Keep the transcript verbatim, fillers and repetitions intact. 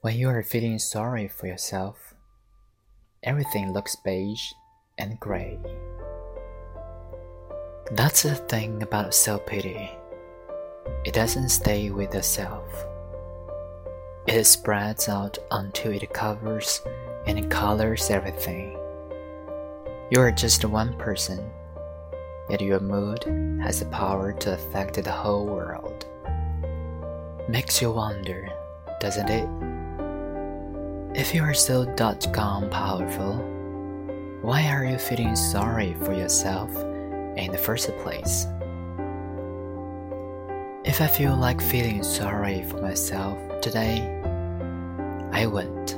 When you are feeling sorry for yourself, everything looks beige and gray. That's the thing about self-pity. It doesn't stay with the self. It spreads out until it covers and colors everything. You are just one person, yet your mood has the power to affect the whole world. Makes you wonder, doesn't it? If you are so dot-com powerful, why are you feeling sorry for yourself in the first place? If I feel like feeling sorry for myself today, I won't.